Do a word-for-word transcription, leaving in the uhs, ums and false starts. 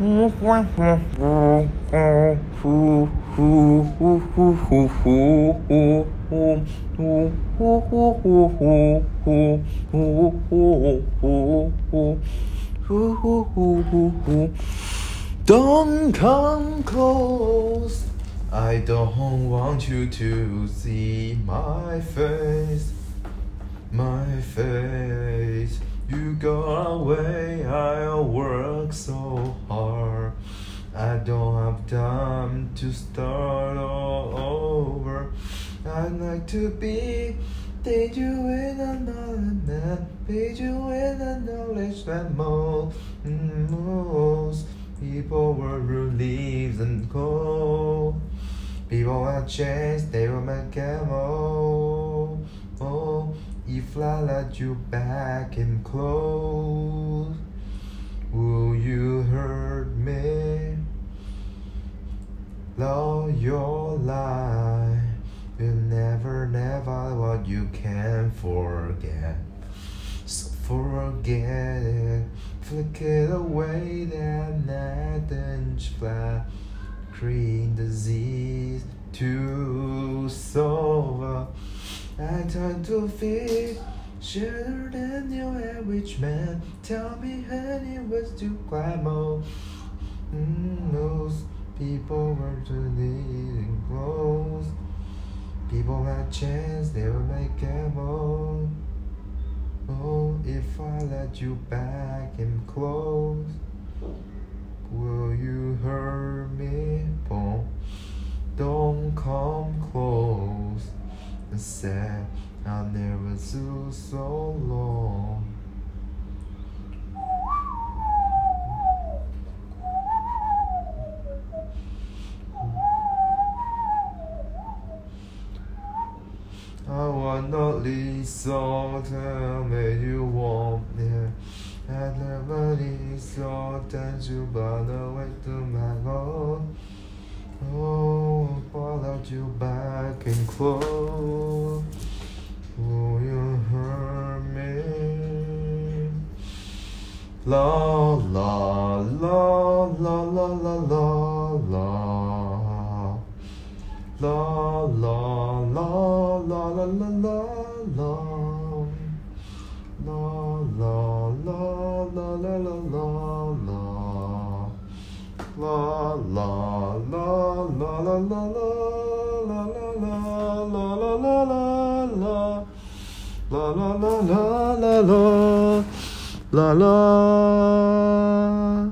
Don't come close. I don't want you to see my face, my face. You go away, I work so hard. I don't have time to start all over. I'd like to be, did you in another net, did you in a knowledge that most, most people were relieved and cold. People had changed, they were my camo. Oh, if I let you back in close, will you hurt me? Love your life, you'll never, never what you can't forget. So forget it, flick it away, that nothing flat. Green disease to solve. I turn to feet, shorter than your average man. Tell me, honey, what's to climb up? Mm, those people were too needing clothes. People had chance, they would make ammo. Oh, if I let you back in close, will you hurt me? Boom. Don't come close. I said I'll never do so long. I wanna listen, tell me you want me. I never listen, then you run away to my own. Oh, followed you back and close. Will you hurt me? La la la la la la la la. La la la la la la la la. La la la la la la la la. La la la la la la la la la la la la la. La la la la la la la la.